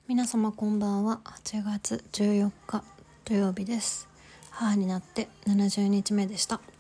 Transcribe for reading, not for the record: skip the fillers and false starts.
皆様こんばんは。8月14日土曜日です。母になって70日目でした。